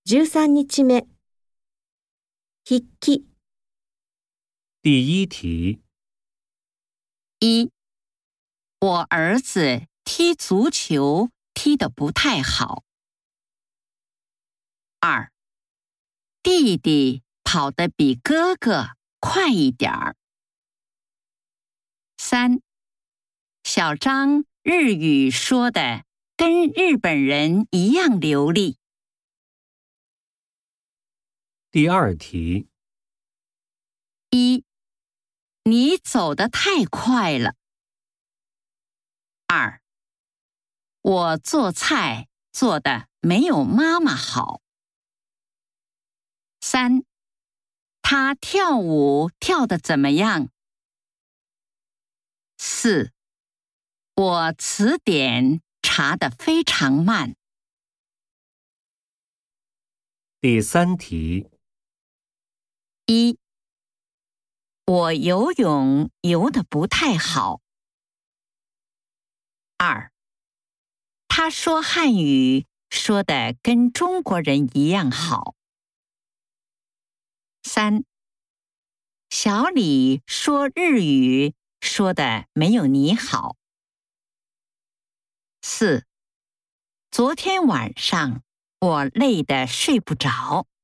13日目。筆記。 第一题， 一，我儿子踢足球踢得不太好。二，弟弟跑得比哥哥快一点儿。三，小张日语说的跟日本人一样流利。 第二题， 一，你走得太快了。二，我做菜做得没有妈妈好。三，他跳舞跳得怎么样？四，我词典查得非常慢。 第三题， 一，我游泳游得不太好。二，他说汉语说得跟中国人一样好。三，小李说日语说得没有你好。四，昨天晚上我累得睡不着。